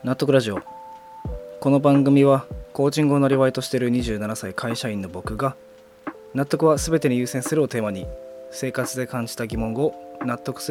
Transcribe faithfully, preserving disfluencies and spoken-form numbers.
納得ラジオ。この番組はコーチングをなりわいとしているにじゅうななさい会社員の僕が、納得は全てに優先するをテーマに生活で感じた疑問を納得する